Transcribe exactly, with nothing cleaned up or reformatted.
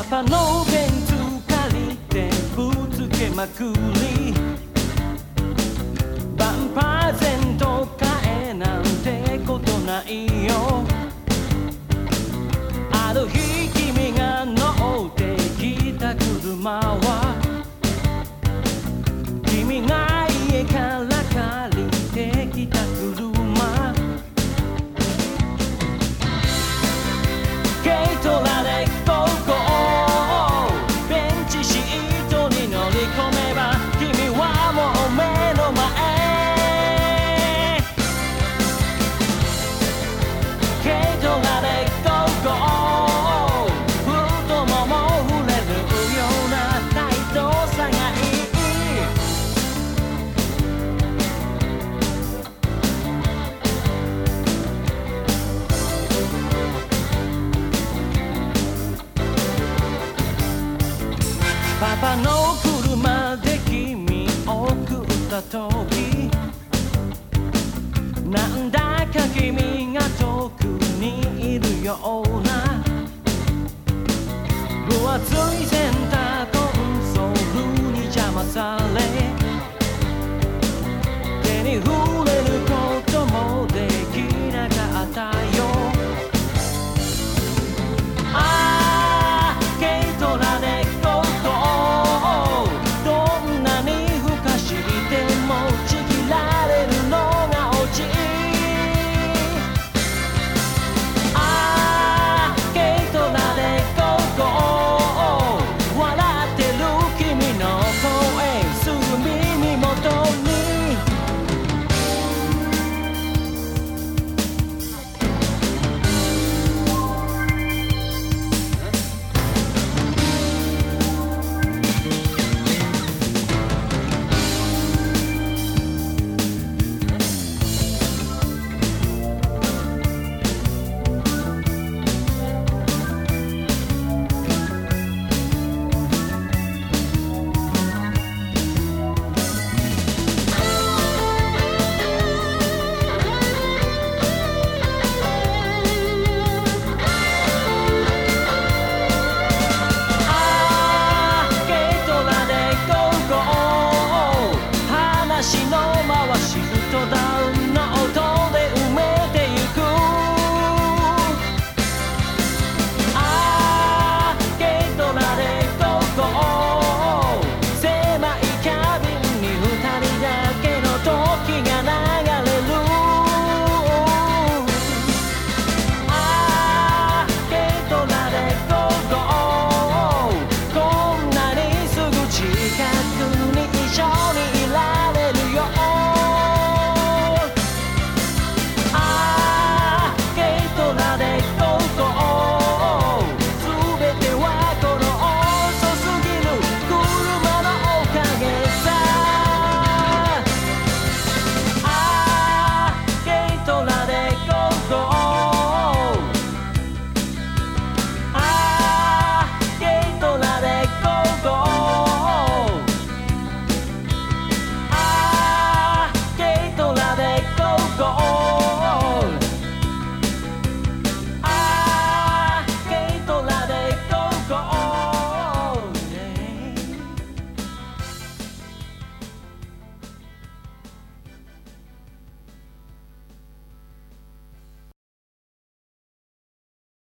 パのベンツ借りてぶつけまくりバンパーゼント買えなんてことないよ。ある日君が乗ってきた車は君が家から借りてきた車。軽トラで高校ベンチシートに乗り込めば君はもう目の前。軽トラで高校太もも触れるようなタイトさがいい。パパの車で君を送った時なんだか君が遠くにいるような分厚いセンターコンソールに邪魔され手に触れる